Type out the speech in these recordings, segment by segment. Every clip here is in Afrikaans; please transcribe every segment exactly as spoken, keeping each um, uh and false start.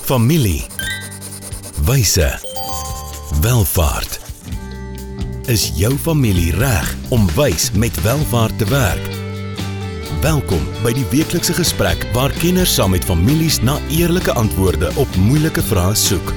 Familie, wyse, welvaart. Is jou familie reg om wys met welvaart te werk? Welkom by die weeklikse gesprek waar kenners saam met families na eerlike antwoorde op moeilike vrae soek.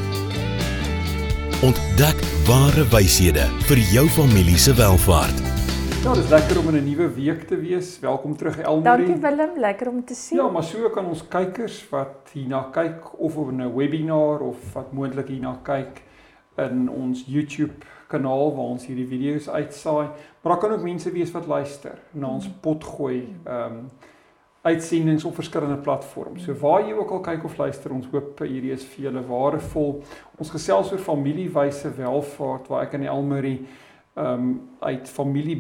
Ontdek ware wyshede vir jou familie se welvaart. Ja, dit is lekker om in 'n nuwe week te wees. Welkom terug, Elmarie. Dankie Willem, lekker om te sien. Ja, maar so kan ons kykers wat hierna kyk of op 'n webinar of wat moontlik hierna kyk in ons YouTube kanaal waar ons hierdie video's uitsaai, maar daar kan ook mense wees wat luister na ons potgooi um, uitsendings op verskillende platforms. So waar jy ook al kyk of luister, ons hoop hierdie is vir julle waardevol. Ons gesels oor familiewyse welvaart waar ek en Elmarie um, uit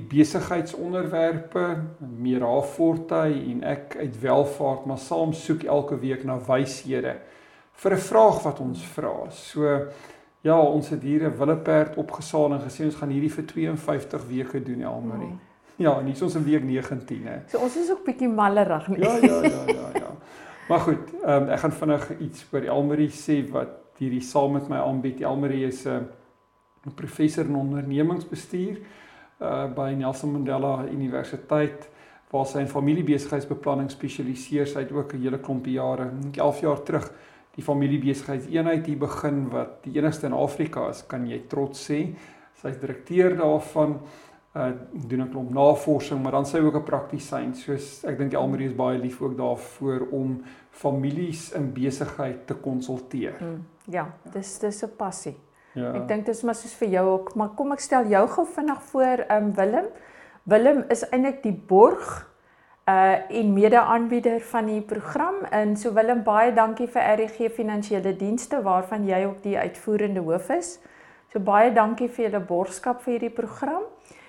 familiebesigheidsonderwerpe, Mira Fortuin en ek uit welvaart, maar saam soek elke week na wyshede vir 'n vraag wat ons vra. So ja, ons het hier 'n willeperd opgesaal en gesê ons gaan hierdie vir twee en vyftig weke doen, Elmarie. Oh. Ja, en hier is ons in week negentien. Hè. So ons is ook bietjie mallerig nie. Ja, ja, ja, ja, ja. Maar goed, um, ek gaan vinnig iets oor Elmarie sê wat hierdie saam met my aanbied. Elmarie is 'n uh, professor in ondernemingsbestuur uh, by Nelson Mandela Universiteit, waar sy in familiebesigheidsbeplanning spesialiseer. Sy het ook 'n hele klompie jare, elf jaar terug, die familiebesigheidseenheid hier begin, wat die enigste in Afrika is, kan jy trots sê. Sy is direkteur daarvan, uh, doen 'n klomp navorsing, maar dan sy ook 'n praktisyn, soos ek dink Elmarie is baie lief ook daarvoor om families in besigheid te konsulteer. Hmm, ja, dis dis 'n passie. Ja. Ek dink dis maar soos vir jou ook, maar kom ek stel jou gou vinnig voor, um, Willem. Willem is eintlik die borg uh, en mede-aanbieder van die program, en so Willem, baie dankie vir R D G Finansiële Dienste, waarvan jy ook die uitvoerende hoof is. So baie dankie vir julle borgskap vir hierdie program.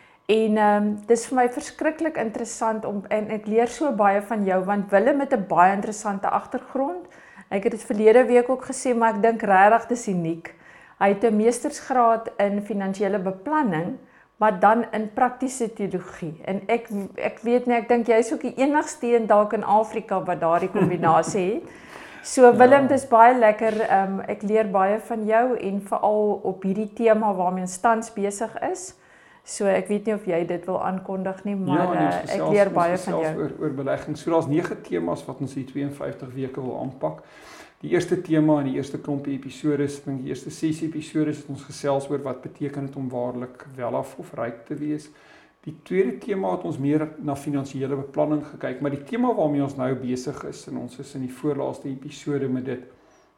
En um, dis vir my verskriklik interessant, om, en ek leer so baie van jou, want Willem het 'n baie interessante agtergrond. Ek het dit verlede week ook gesê, maar ek dink regtig dis uniek. Hy het 'n meestersgraad in finansiële beplanning, maar dan in praktiese teologie. En ek ek weet nie, ek dink jy is ook die enigste een dalk in Afrika wat daardie kombinasie het. So Willem, dis baie lekker. Um, ek leer baie van jou en veral op hierdie tema waarmee ons tans besig is. So ek weet nie of jy dit wil aankondig nie, maar ja, uh, gesels, ek leer baie van jou. Oor, oor belegging. So daar's nege temas wat ons die twee en vyftig weke wil aanpak. Die eerste tema in die eerste klompie episodes, ek dink die eerste ses episodes het ons gesels oor wat beteken dit om waarlik welaf of ryk te wees. Die tweede tema het ons meer na finansiële beplanning gekyk, maar die tema waarmee ons nou besig is, en ons is in die voorlaaste episode met dit,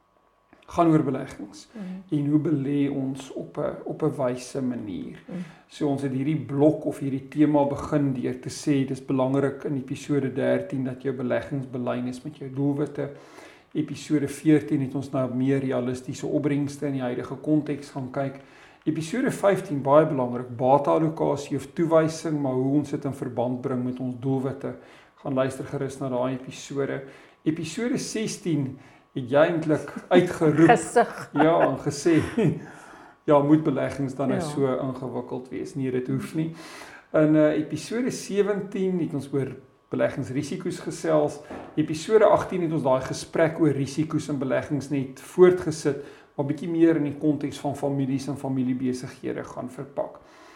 gaan oor beleggings. Mm. En hoe belê ons op 'n op 'n wyse manier. Mm. So ons het hierdie blok of hierdie tema begin deur te sê dis belangrik in episode dertien dat jou beleggings belyn is met jou doelwitte. Episode veertien het ons nou meer realistiese opbrengste in die huidige konteks gaan kyk. Episode vyftien, baie belangrik, bate-allokasie of toewysing, maar hoe ons dit in verband bring met ons doelwitte. Gaan luister gerus na daai episode. Episode sestien het jy eintlik uitgeroep. Gesig. Ja, en gesê, ja, moet beleggings dan nou ja. so ingewikkeld wees? Nee, dit hoef nie. In uh, episode sewentien het ons oor beleggingsrisiko's gesels. Episode agttien het ons daai gesprek oor risiko's in beleggings net voortgesit, maar bietjie meer in die konteks van families en familiebesighede gaan verpak.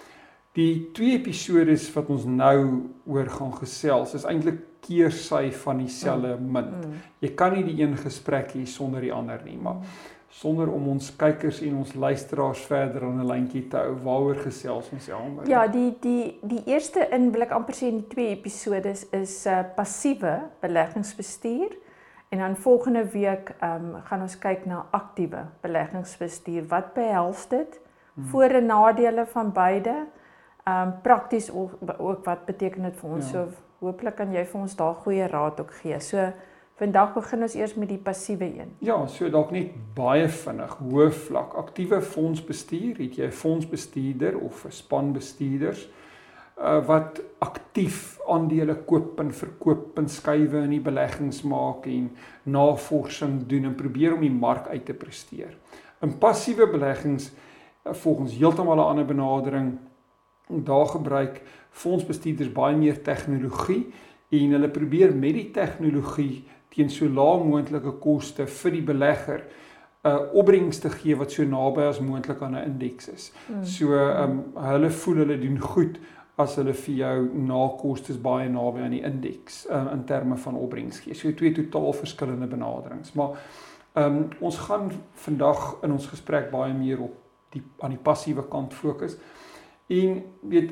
Die twee episodes wat ons nou oor gaan gesels, is eintlik keersy van dieselfde munt. Jy kan nie die een gesprek hê sonder die ander nie, maar sonder om ons kykers en ons luisteraars verder aan 'n lyntjie te hou, waaroor gesels ons Elmarie? Ja, die die die eerste in wil ek amper sê in die twee episodes is uh, passiewe beleggingsbestuur, en dan volgende week um, gaan ons kyk na aktiewe beleggingsbestuur. Wat behels dit? Hmm. Voor- en nadele van beide. Um, prakties ook, ook wat beteken dit vir ons? Ja. So hopelik kan jy vir ons daar goeie raad ook gee. So vandag begin ons eers met die passiewe een. Ja, so dalk net baie vinnig, hoë vlak. Aktiewe fondsbestuur, het jy 'n fondsbestuurder of 'n span bestuurders uh, wat aktief aandele koop en verkoop en skuwe in die beleggings maak en navorsing doen en probeer om die mark uit te presteer. In passiewe beleggings, uh, volgens heeltemal 'n ander benadering, daar gebruik fondsbestuurders baie meer tegnologie en hulle probeer met die tegnologie teen so laag moontlike koste vir die belegger uh, opbrengs te gee wat so naby as moontlik aan 'n indeks is. Mm. So um, hulle voel hulle doen goed as hulle vir jou na kostes baie naby aan die indeks uh, in terme van opbrengs gee. So twee totaal verskillende benaderings. Maar um, ons gaan vandag in ons gesprek baie meer op die aan die passiewe kant fokus. En weet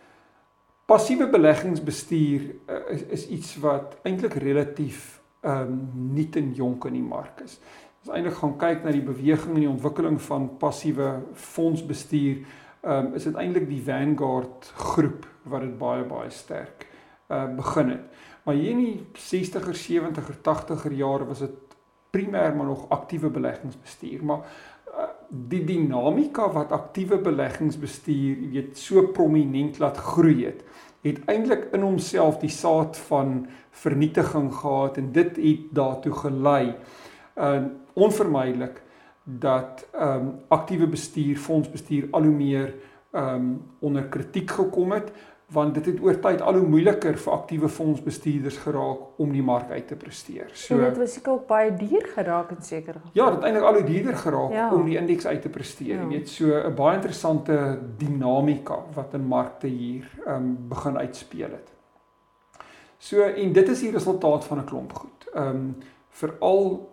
passiewe beleggingsbestuur uh, is, is iets wat eintlik relatief um, nuut en jonk in die mark is. As eintlik gaan kyk na die beweging en die ontwikkeling van passiewe fondsbestuur, um, is dit eintlik die Vanguard groep wat dit baie baie sterk uh, begin het. Maar hier in die sestiger, sewentiger, tachtiger jare was dit primêr maar nog aktiewe beleggingsbestuur, maar uh, die dinamika wat aktiewe beleggingsbestuur, jy weet, so prominent laat groei het, het eintlik in homself die saad van vernietiging gehad en dit het daartoe gelei, uh, onvermydelik, dat um, aktiewe bestuur, fondsbestuur al hoe meer um, onder kritiek gekom het, want dit het oor tyd al hoe moeiliker vir aktiewe fondsbestuurders geraak om die mark uit te presteer. So, en dit was seker ook baie duur geraak in sekere geval. Ja, dit het eintlik al hoe duurder geraak ja. om die indeks uit te presteer. Jy weet, so 'n baie interessante dinamika wat in markte hier um, begin uitspeel het. So, en dit is die resultaat van 'n klomp goed. Um, veral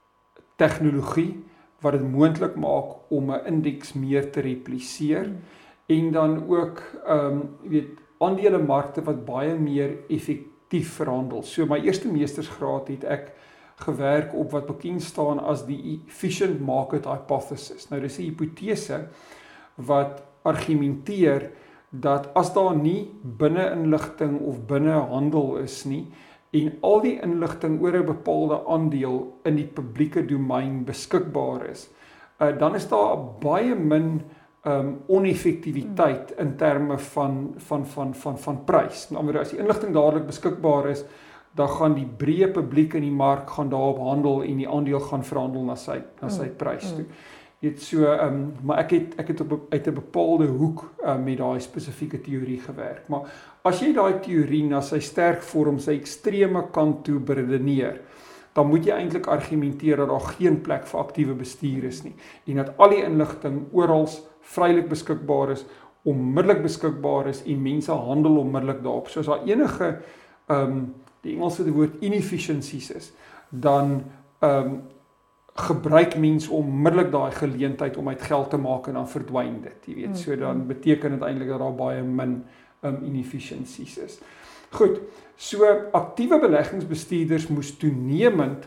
tegnologie wat dit moontlik maak om 'n indeks meer te repliseer hmm. en dan ook um, weet, aandelemarkte wat baie meer effektief verhandel. So my eerste meestersgraad het ek gewerk op wat bekend staan as die efficient market hypothesis. Nou dis 'n hipotese wat argumenteer dat as daar nie binne-inligting of binne-handel is nie, en al die inligting oor 'n bepaalde aandeel in die publieke domein beskikbaar is, uh, dan is daar baie min um, oneffektiwiteit in terme van, van, van, van, van prys. Met ander woorde, as die inligting dadelik beskikbaar is, dan gaan die breë publiek in die mark gaan daarop handel en die aandeel gaan verhandel na sy, na sy prys toe. Dit so, um, maar ek het, ek het op, uit 'n bepaalde hoek um, met daai spesifieke teorie gewerk. Maar as jy daai teorie na sy sterk vorm, sy ekstreme kant toe beredeneer, dan moet jy eintlik argumenteer dat daar geen plek vir aktiewe bestuur is nie. En dat al die inligting oral vrylik beskikbaar is, onmiddellik beskikbaar is en mense handel onmiddellik daarop. So as daar enige, um, die Engelse woord inefficiencies is, dan um, gebruik mens onmiddellik daai geleentheid om uit geld te maak en dan verdwyn dit, jy weet. So dan beteken dit eintlik dat daar baie min um, inefficiencies is. Goed, so aktiewe beleggingsbestuurders moes toenemend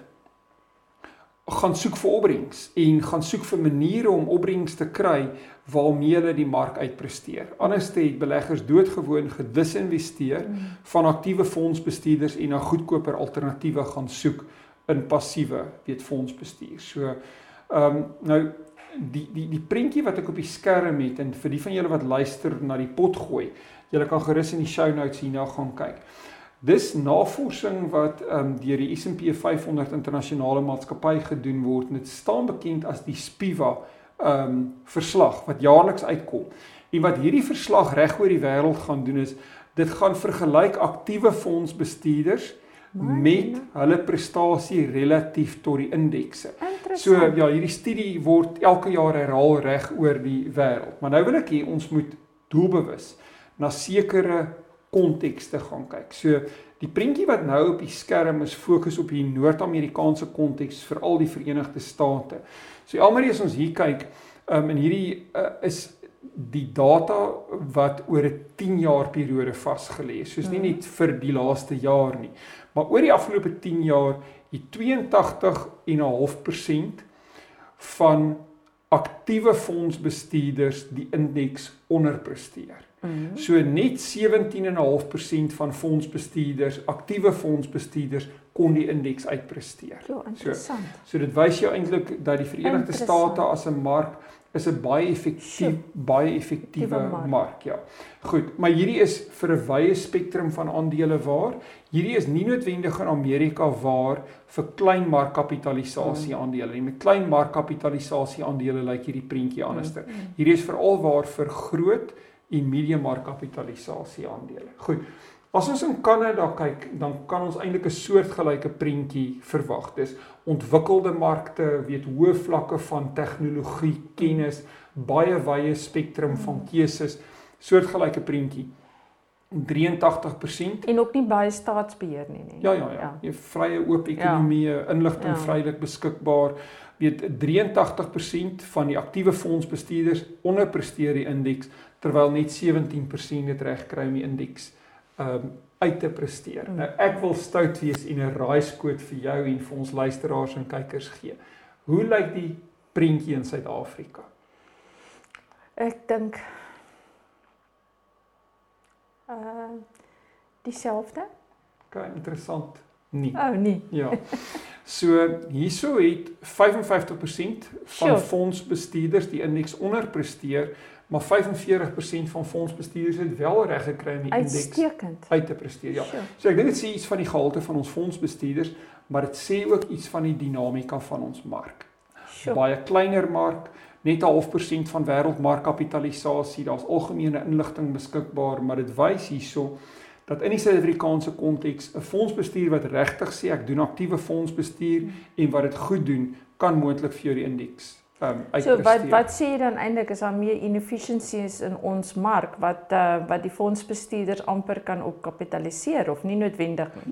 gaan soek vir opbrengs en gaan soek vir maniere om opbrengs te kry waarmee hulle die mark uitpresteer. Anders het beleggers doodgewoon gedisinvesteer van aktiewe fondsbestuurders en na goedkoper alternatiewe gaan soek in passiewe, weet, fondsbestuur. So, um, nou, die, die, die prentjie wat ek op die skerm het, en vir die van julle wat luister na die pot gooi, julle kan gerus in die show notes hierna gaan kyk. Dis navorsing wat um, deur die S en P vyf honderd internasionale maatskappy gedoen word, en dit staan bekend as die SPIVA um, verslag, wat jaarliks uitkom. En wat hierdie verslag reg oor die wêreld gaan doen is, dit gaan vergelyk aktiewe fondsbestuurders met hulle prestasie relatief tot die indekse. So ja, hierdie studie word elke jaar herhaal reg oor die wêreld. Maar nou wil ek hier, ons moet doelbewus na sekere kontekste gaan kyk. So die prentjie wat nou op die skerm is, fokus op die Noord-Amerikaanse konteks, veral die Verenigde State. So almal as ons hier kyk, um, en hierdie uh, is die data wat oor 'n tien jaar periode vasgelê is, soos nie net vir die laaste jaar nie, maar oor die afgelope tien jaar het tweeëntagtig komma vyf persent van aktiewe fondsbestuurders die indeks onderpresteer. Mm-hmm. So net sewentien komma vyf persent van fondsbestuurders, aktiewe fondsbestuurders, kon die indeks uitpresteer. Ja, interessant. So, so dit wys jou eintlik dat die Verenigde State as 'n mark is 'n baie effektief, baie effektiewe mark. mark, ja. Goed, maar hierdie is vir 'n wye spektrum van aandele waar. Hierdie is nie noodwendig in Amerika waar vir klein markkapitalisasie mm. aandele nie. Met klein markkapitalisasie aandele lyk hierdie prentjie anderster. Mm. Hierdie is veral waar vir groot en medium markkapitalisasie aandele. Goed. As ons in Kanada kyk, dan kan ons eintlik 'n soortgelyke prentjie verwag. Dis ontwikkelde markte, weet hoë vlakke van tegnologie, kennis, baie wye spektrum van keuses, soortgelyke prentjie. drie en tagtig persent En ook nie baie staatsbeheer nie, nie. Ja, ja, ja. Jy vrye oop ekonomie, ja. inligting ja. vrylik beskikbaar. Weet drie en tagtig persent van die aktiewe fondsbestuurders onderpresteer die indeks, terwyl net sewentien persent dit regkry om die indeks um, uit te presteer. Mm. Nou ek wil stout wees en 'n raaiskoot vir jou en vir ons luisteraars en kykers gee. Hoe lyk die prentjie in Suid-Afrika? Ek dink uh dieselfde. Okay, interessant. Nie. Oh, nie. Ja. So hierso het vyf en vyftig persent van sure. fondsbestuurders die indeks onderpresteer, maar vyf en veertig persent van fondsbestuurders het wel reg gekry om die indeks uit te presteer. Ja. Sure. So ek dink dit sê iets van die gehalte van ons fondsbestuurders, maar dit sê ook iets van die dinamika van ons mark. Sure. Baie kleiner mark, net 'n half persent van wêreldmarkkapitalisasie, daar's algemene inligting beskikbaar, maar dit wys hierso dat in die Suid-Afrikaanse konteks 'n fondsbestuur wat regtig sê ek doen aktiewe fondsbestuur hmm. en wat dit goed doen, kan moontlik vir jou die indeks um, uitpresteer. So wat wat sê jy dan eintlik is daar meer inefficiencies in ons mark wat uh, wat die fondsbestuurders amper kan opkapitaliseer of nie noodwendig nie?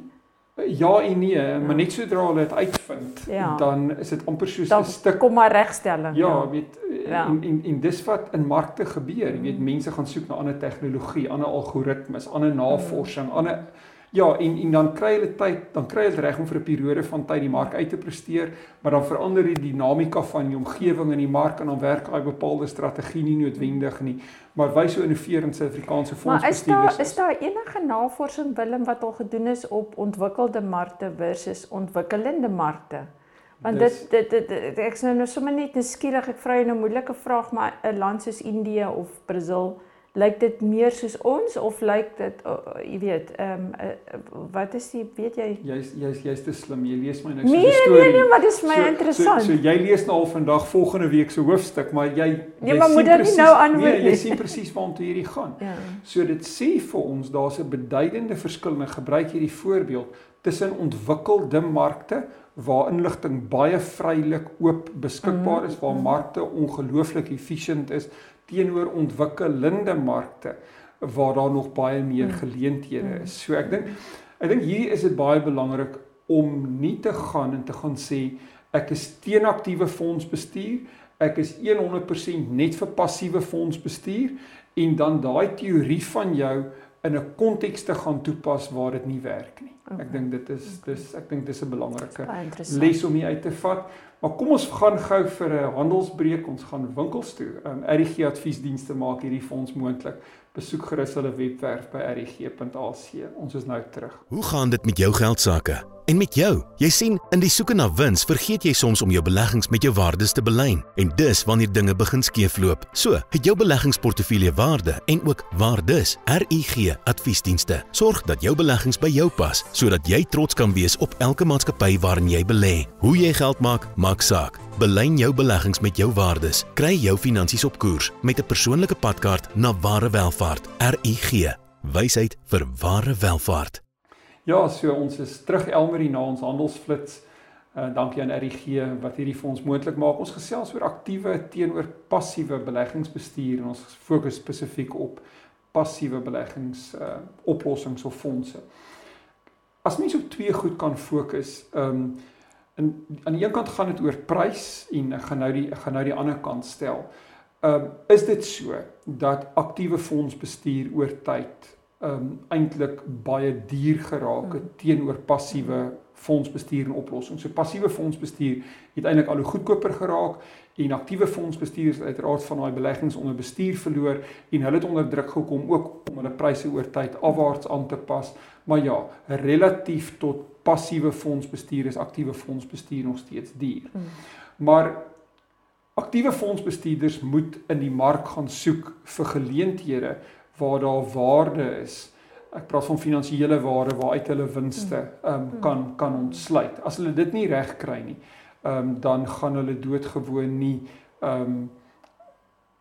Ja en nee, ja. maar net sodra hulle dit uitvind, ja. dan is dit amper soos 'n stuk kom maar regstelling. Ja, ja. weet ja. en en en dis wat in markte gebeur. Jy weet mense gaan soek na ander tegnologie, ander algoritmes, ander navorsing, ander ja, en en dan kry hulle tyd, dan kry hulle reg om vir 'n periode van tyd die mark uit te presteer, maar dan verander die dinamika van die omgewing in die mark en dan werk daai bepaalde strategie nie noodwendig nie. Maar wys so innoverend Suid-Afrikaanse fondsbestuurders. Maar is daar is daar enige navorsing Willem wat al gedoen is op ontwikkelde markte versus ontwikkelende markte? Want dit dit dit, dit ek is nou sommer net nuuskierig, ek vra jou nou 'n moeilike vraag, maar 'n land soos Indië of Brasil, lyk dit meer soos ons of lyk dit uh, jy weet, ehm um, uh, wat is die weet jy? Jy's jy's jy's te slim. Jy lees my niks nee, van die storie. Nee, nee, maar dis my so, interessant. So, so jy lees nou al vandag volgende week se hoofstuk, maar jy jy nee, maar moet dit nou antwoord nee, jy sien presies waartoe hierdie gaan. Ja. So dit sê vir ons daar's 'n beduidende verskil en ek gebruik hierdie voorbeeld tussen ontwikkelde markte waar inligting baie vrylik oop beskikbaar is, waar markte ongelooflik efficient is, teenoor ontwikkelende markte waar daar nog baie meer geleenthede is. So ek dink ek dink hier is dit baie belangrik om nie te gaan en te gaan sê ek is teen aktiewe fondsbestuur, ek is honderd persent net vir passiewe fondsbestuur en dan daai teorie van jou in 'n konteks te gaan toepas waar dit nie werk nie. Okay. Ek dink dit is dis ek dink dis 'n belangrike les om hier uit te vat. Maar kom ons gaan gou vir 'n handelsbreek, ons gaan winkels toe. Um, R I G adviesdienste maak hierdie fonds moontlik. Besoek gerus hulle webwerf by r i g punt a c. Ons is nou terug. Hoe gaan dit met jou geldsaake? En met jou? Jy sien, in die soeke na wins vergeet jy soms om jou beleggings met jou waardes te belyn. En dis wanneer dinge begin skeefloop. So, het jou beleggingsportefeulje waarde en ook waardes. R I G adviesdienste sorg dat jou beleggings by jou pas, sodat jy trots kan wees op elke maatskappy waarin jy belê. Hoe jy geld maak, maak saak. Belyn jou beleggings met jou waardes. Kry jou finansies op koers met 'n persoonlike padkaart na ware welvaart. R I G, wysheid vir ware welvaart. Ja, so ons is terug Elmarie na ons handelsflits. Uh, dankie aan R I G wat hierdie vir ons moontlik maak. Ons gesels oor aktiewe teenoor passiewe beleggingsbestuur en ons fokus spesifiek op passiewe beleggings uh, oplossings of fondse. As mens op twee goed kan fokus, um, en aan die een kant gaan dit oor prys en ek gaan nou die ek gaan nou die ander kant stel. Um, is dit so dat aktiewe fondsbestuur oor tyd um, eintlik baie duur geraak het teenoor passiewe fondsbestuur en oplossings. So passiewe fondsbestuur het eintlik al hoe goedkoper geraak en aktiewe fondsbestuur het uiteraard van daai beleggings onder bestuur verloor en hulle het onder druk gekom ook om hulle pryse oor tyd afwaarts aan te pas. Maar ja, relatief tot passiewe fondsbestuur is aktiewe fondsbestuur nog steeds duur. Hmm. Maar aktiewe fondsbestuurders moet in die mark gaan soek vir geleenthede waar daar waarde is. Ek praat van finansiële waarde waaruit hulle winste um, kan kan ontsluit. As hulle dit nie reg kry nie, um, dan gaan hulle doodgewoon nie um,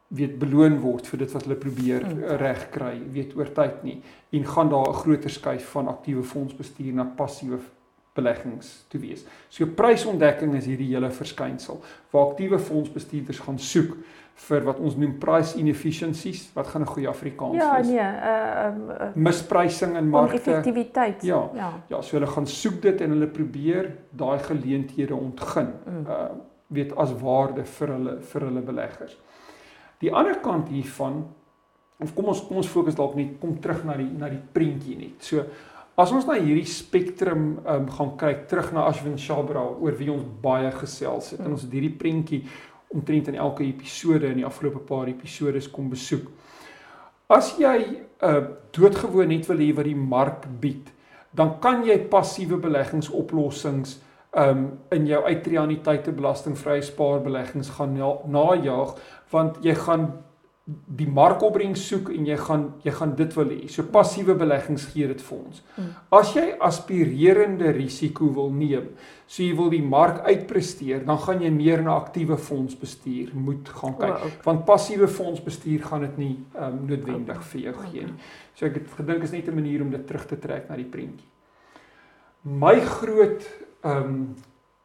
weet beloon word vir dit wat hulle probeer Mm. reg kry, weet oor tyd nie, en gaan daar 'n groter skuif van aktiewe fondsbestuur na passiewe beleggings toe wees. So prysontdekking is hierdie hele verskynsel, waar aktiewe fondsbestuurders gaan soek vir wat ons noem price inefficiencies, wat gaan 'n goeie Afrikaans Ja, wees? nee, uh, um, uh, Misprysing in markte. oneffektiwiteit. Ja. ja. Ja, so hulle gaan soek dit en hulle probeer daai geleenthede ontgin, Mm. uh, weet as waarde vir hulle vir hulle beleggers. Die ander kant hiervan, of kom ons kom ons fokus dalk net kom terug na die na die prentjie net. So as ons na hierdie spektrum um, gaan kyk, terug na Ashwin Chabra oor wie ons baie gesels het, mm. en ons het hierdie prentjie omtrent in elke episode in die afgelope paar episodes kom besoek. As jy uh, doodgewoon net wil hê wat die mark bied, dan kan jy passiewe beleggingsoplossings um, in jou uitreaniteite belastingvrye spaarbeleggings gaan na, najaag, want jy gaan die markopbrengs soek en jy gaan jy gaan dit wil hê. So passiewe beleggings gee dit vir ons. Mm. As jy aspirerende risiko wil neem, so jy wil die mark uitpresteer, dan gaan jy meer na aktiewe fondsbestuur moet gaan kyk. O, okay. Want passiewe fondsbestuur gaan dit nie um, noodwendig vir jou gee nie. So ek het gedink is net 'n manier om dit terug te trek na die prentjie. My groot um,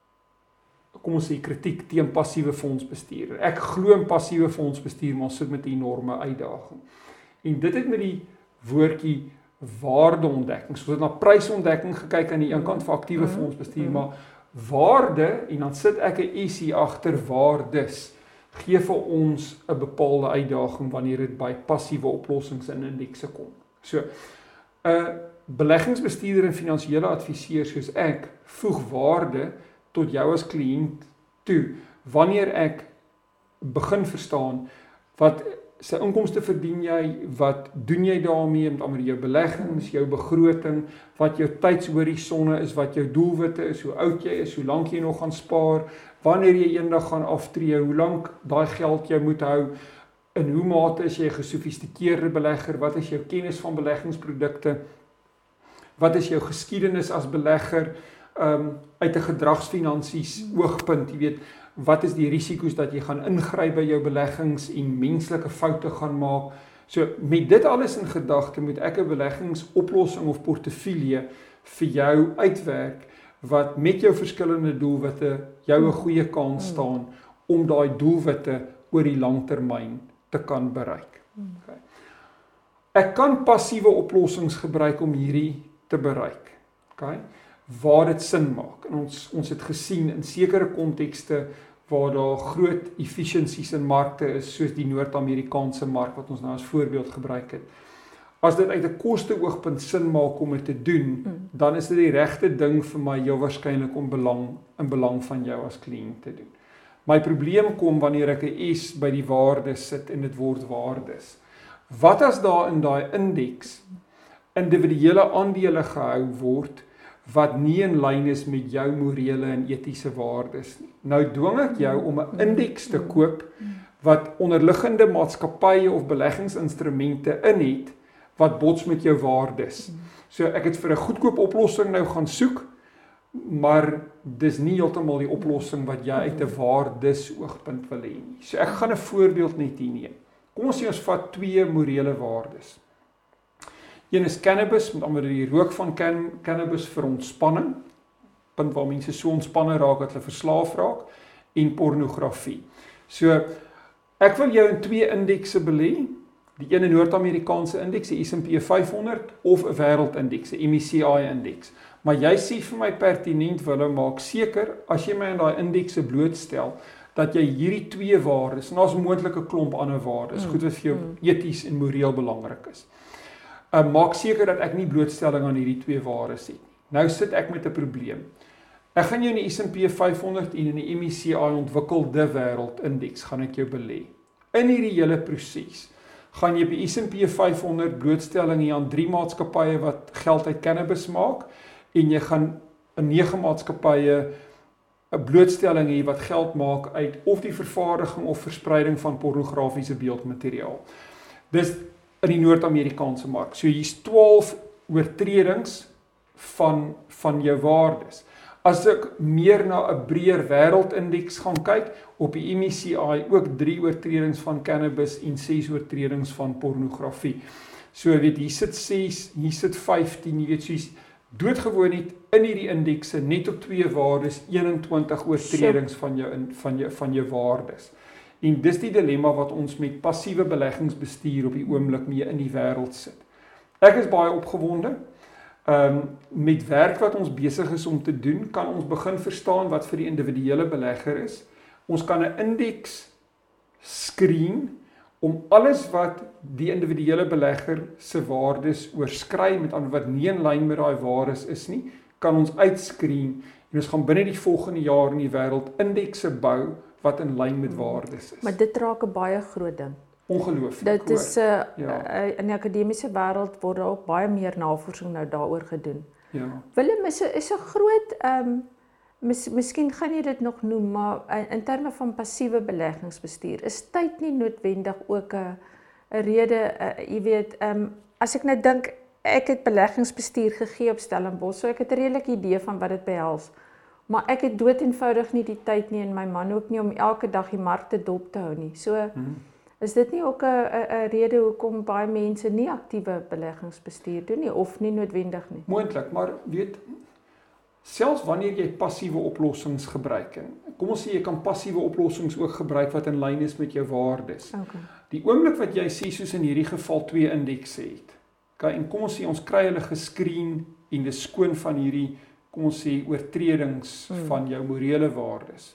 kom ons sê kritiek teen passiewe fondsbestuur. Ek glo in passiewe fondsbestuur, maar sit met 'n enorme uitdaging. En dit het met die woordjie waardeontdekking. So ons het na prysontdekking gekyk aan die een kant vir aktiewe Mm. fondsbestuur, Mm. maar waarde, en dan sit ek 'n S hier agter waardes, gee vir ons 'n bepaalde uitdaging wanneer dit by passiewe oplossings in indekse kom. So 'n beleggingsbestuurder en finansiële adviseur soos ek voeg waarde tot jou as kliënt toe wanneer ek begin verstaan wat sy inkomste verdien jy, wat doen jy daarmee met ander jou beleggings, jou begroting, wat jou tydshorisonne is, wat jou doelwitte is, hoe oud jy is, hoe lank jy nog gaan spaar, wanneer jy eendag gaan aftree, hoe lank daai geld jy moet hou, in hoe mate is jy 'n gesofistikeerde belegger, wat is jou kennis van beleggingsprodukte, wat is jou geskiedenis as belegger, um, uit 'n gedragsfinansies oogpunt, jy weet, wat is die risiko's dat jy gaan ingryp by jou beleggings en menslike foute gaan maak. So met dit alles in gedagte moet ek 'n beleggingsoplossing of portefeulje vir jou uitwerk wat met jou verskillende doelwitte jou 'n goeie kans staan om daai doelwitte oor die lang termyn te kan bereik. Okay. Ek kan passiewe oplossings gebruik om hierdie te bereik. Okay? Waar dit sin maak. En ons ons het gesien in sekere kontekste waar daar groot efficiencies in markte is, soos die Noord-Amerikaanse mark wat ons nou as voorbeeld gebruik het. As dit uit 'n koste-oogpunt sin maak om dit te doen, mm. dan is dit die regte ding vir my heel waarskynlik om belang in belang van jou as kliënt te doen. My probleem kom wanneer ek 'n S by die waardes sit en dit word waardes. Wat as daar in daai indeks individuele aandele gehou word wat nie in lyn is met jou morele en etiese waardes nie. Nou dwing ek jou om 'n indeks te koop wat onderliggende maatskappye of beleggingsinstrumente in het wat bots met jou waardes. So ek het vir 'n goedkoop oplossing nou gaan soek, maar dis nie heeltemal die oplossing wat jy uit 'n waardes oogpunt wil hê nie. So ek gaan 'n voorbeeld net hier neem. Kom ons sê ons vat twee morele waardes. Een is cannabis, met ander die rook van can, cannabis vir ontspanning, punt waar mense so ontspanne raak dat hulle verslaaf raak, en pornografie. So, ek wil jou in twee indekse belê, die ene Noord-Amerikaanse indeks, die S en P vyf honderd, of 'n wêreldindeks, die M S C I indeks. Maar jy sê vir my pertinent, Willem, maak seker, as jy my in daai indekse blootstel, dat jy hierdie twee waardes, en daar's moontlik 'n klomp ander waardes, Mm, goed wat vir jou mm. eties en moreel belangrik is. Uh, maak seker dat ek nie blootstelling aan hierdie twee waardes het. Nou sit ek met 'n probleem. Ek gaan jou in die S en P vyf honderd en in die M S C I ontwikkelde wêreldindeks gaan ek jou belê. In hierdie hele proses gaan jy by S en P vyf honderd blootstelling hê aan drie maatskappye wat geld uit cannabis maak en jy gaan in nege maatskappye 'n blootstelling hê wat geld maak uit of die vervaardiging of verspreiding van pornografiese beeldmateriaal. Dis in die Noord-Amerikaanse mark. So hier's twaalf oortredings van van jou waardes. As ek meer na 'n breër wêreldindeks gaan kyk, op die M E C I ook drie oortredings van cannabis en ses oortredings van pornografie. So weet hier sit ses, hier sit vyftien, jy weet soos doodgewoon net in hierdie indekse net op twee waardes eenentwintig oortredings van jou in van jou van jou waardes. En dis die dilemma wat ons met passiewe beleggingsbestuur op die oomblik mee in die wêreld sit. Ek is baie opgewonde. Um, met werk wat ons besig is om te doen, kan ons begin verstaan wat vir die individuele belegger is. Ons kan 'n indeks screen om alles wat die individuele belegger se waardes oorskry, met ander wat nie in lyn met daai waardes is nie, kan ons uitscreen en ons gaan binne die volgende jaar in die wêreld indekse bou wat in lyn met waardes is. Maar dit raak 'n baie groot ding. Ongelooflik. Dit is uh, ja. uh, in die akademiese wêreld word daar ook baie meer navorsing nou daaroor gedoen. Ja. Willem is 'n is 'n groot ehm um, mis, miskien gaan jy dit nog noem, maar in, in terme van passiewe beleggingsbestuur is tyd nie noodwendig ook 'n 'n rede, uh, jy weet, ehm um, as ek net dink ek het beleggingsbestuur gegee op Stellenbosch, so ek het 'n redelike idee van wat dit behels. Maar ek het dood eenvoudig nie die tyd nie en my man ook nie om elke dag die markte dop te hou nie. So hmm. is dit nie ook 'n 'n rede hoekom baie mense nie aktiewe beleggingsbestuur doen nie of nie noodwendig nie? Moontlik, maar weet selfs wanneer jy passiewe oplossings gebruik en kom ons sê jy kan passiewe oplossings ook gebruik wat in lyn is met jou waardes. Okay. Die oomblik wat jy sê soos in hierdie geval twee indekse het. Okay, en kom ons sê ons kry hulle gescreen en dis skoon van hierdie kom ons sê oortredings hmm. van jou morele waardes.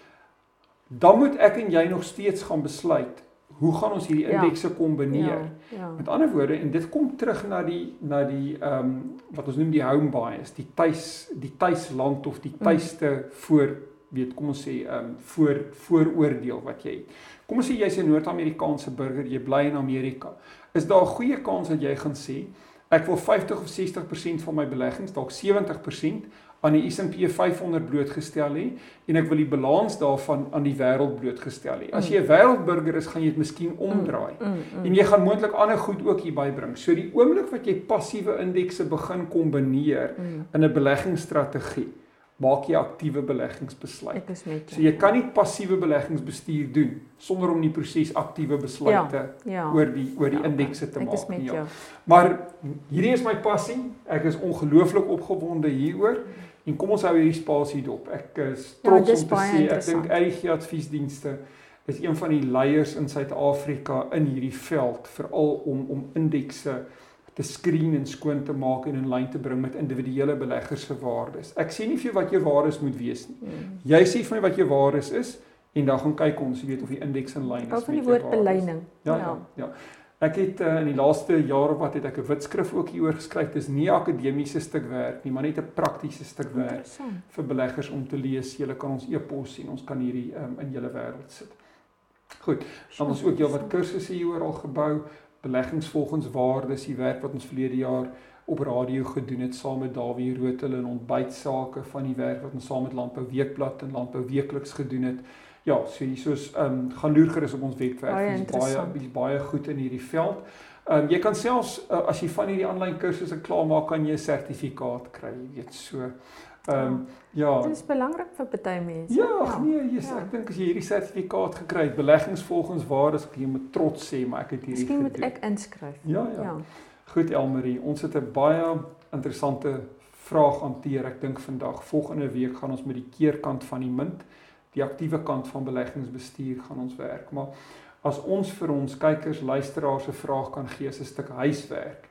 Dan moet ek en jy nog steeds gaan besluit hoe gaan ons hierdie indekse kombineer? Ja, ja. Met ander woorde, en dit kom terug na die na die ehm um, wat ons noem die home bias, die tuis die tuisland of die tuiste mm. voor weet kom ons sê ehm um, voor vooroordeel wat jy het. Kom ons sê jy's 'n Noord-Amerikaanse burger, jy bly in Amerika. Is daar 'n goeie kans dat jy gaan sê ek wil vyftig of sestig persent van my beleggings, dalk sewentig persent aan die S en P vyf honderd blootgestel hê en ek wil die balans daarvan aan die wêreld blootgestel hê. As jy 'n wêreldburger is, gaan jy dit miskien omdraai. Mm, mm, mm. En jy gaan moontlik ander goed ook hierby bring. So die oomblik wat jy passiewe indekse begin kombineer mm. in 'n beleggingsstrategie, maak jy aktiewe beleggingsbesluit. Ek is met so jy kan nie passiewe beleggingsbestuur doen sonder om die proses aktiewe besluite ja, ja. oor die oor die ja, indekse te ek maak nie. Ja. Maar hierdie is my passie. Ek is ongelooflik opgewonde hieroor. En kom ons hou hierdie spasie dop. Ek is trots ja, om te sê, ek dink R G Adviesdienste is een van die leiers in Suid-Afrika in hierdie veld, veral om om indekse te screen en skoon te maak en in lyn te bring met individuele beleggers se waardes. Ek sê nie vir jou wat jou waardes moet wees nie. Mm. Jy sê vir my wat jou waardes is en dan gaan kyk ons, jy weet of die indeks in lyn is met jou waardes. Of die woord beleining. Ja, ja, ja. Ek het uh, in die laaste jare wat het ek 'n witskrif ook hieroor geskryf. Dis nie 'n akademiese stuk werk nie, maar net 'n praktiese stuk werk vir beleggers om te lees. Julle kan ons e-pos en ons kan hierdie um, in julle wêreld sit. Goed, dan ons ook heelwat kursusse hieroor al gebou. Beleggings volgens waardes, die werk wat ons verlede jaar op radio gedoen het saam met Dawie Rotel en ontbytsake van die werk wat ons saam met Landbou Weekblad en Landbou Weekliks gedoen het. Ja, so hiersoos ehm um, gaan loer gerus op ons webwerf. Dis baie dis baie goed in hierdie veld. Ehm um, jy kan selfs uh, as jy van hierdie aanlyn kursusse klaar maak, kan jy 'n sertifikaat kry, jy weet so. Ehm um, ja. Dit is belangrik vir baie mense. Ja, ja. nee, yes, ja. Ek dink as jy hierdie sertifikaat gekry het, beleggings volgens waardes, kan jy met trots sê, maar ek het hierdie Miskien gedoen. moet ek inskryf. Ja, ja, ja. Goed Elmarie, ons het 'n baie interessante vraag hanteer. Ek dink vandag, volgende week gaan ons met die keerkant van die munt, die aktiewe kant van beleggingsbestuur gaan ons werk. Maar as ons vir ons kykers, luisteraars 'n vraag kan gee, 'n stuk huiswerk,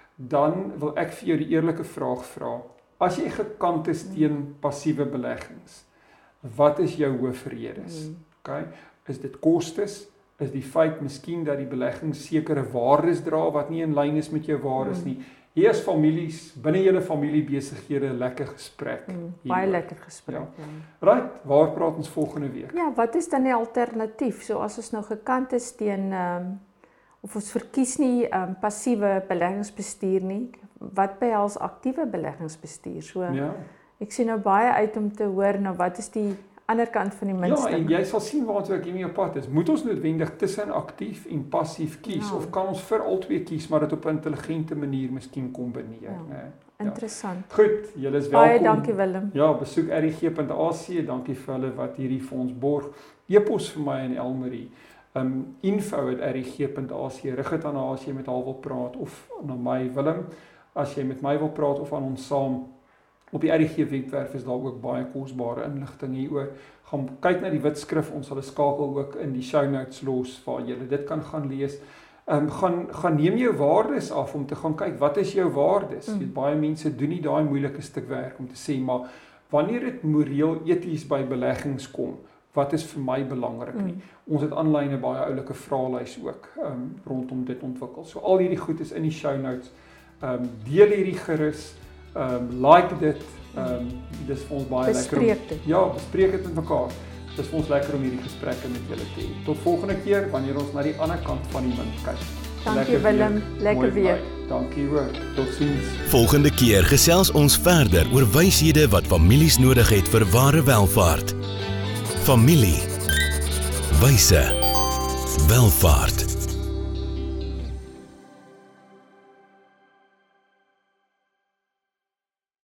dan wil ek vir jou die eerlike vraag vra. As jy gekant is teen passiewe beleggings, wat is jou hoofredes? Mm. Okay? Is dit kostes? Is die feit miskien dat die belegging sekere waardes dra wat nie in lyn is met jou waardes mm. nie? Hier is families, binne julle familie besighede 'n lekker gesprek. Mm, baie lekker gesprek. Ja. Ja. Right, waar praat ons volgende week? Ja, wat is dan die alternatief? So as ons nou gekant is teen ehm um, of ons verkies nie ehm um, passiewe beleggingsbestuur nie, wat behels aktiewe beleggingsbestuur? So ja. Ek sien nou baie uit om te hoor nou wat is die ander kant van die muntstuk. Ja, en jy sal sien waartoe ek hiermee op pad is. Moet ons noodwendig tussen aktief en passief kies ja. of kan ons vir albei kies maar dit op 'n intelligente manier miskien kombineer, ja. né? interessant. Ja. Goed, julle is welkom. Baie dankie Willem. Ja, besoek r i g punt a c, dankie vir hulle wat hierdie vir ons borg. E-pos vir my en Elmarie. Um, info at r i g punt a c, rig dit aan haar as jy met haar wil praat, of na my Willem, as jy met my wil praat of aan ons saam. Op die R I G webwerf is daar ook baie kosbare inligting hieroor. Gaan kyk na die wit skrif, ons sal 'n skakel ook in die show notes los waar jy dit kan gaan lees. Um, gaan, gaan neem jou waardes af om te gaan kyk, wat is jou waardes? Mm. Baie mense doen nie daai moeilike stuk werk om te sê, maar wanneer dit moreel eties by beleggings kom, wat is vir my belangrik nie? Mm. Ons het aanlyn 'n baie oulike vraelys ook um, rondom dit ontwikkel. So al hierdie goed is in die show notes. Um, deel hierdie gerus. Um, like dit, um, dis vir ons baie bespreek lekker om, dit. ja, bespreek dit met mekaar. Dis vir ons lekker om hierdie gesprekke met julle te hê. Tot volgende keer wanneer ons na die ander kant van die munt kyk. Dankie Willem, lekker weer. Dankie hoor. Totsiens. Volgende keer gesels ons verder oor wyshede wat families nodig het vir ware welvaart. Familie. Wyse. Welvaart.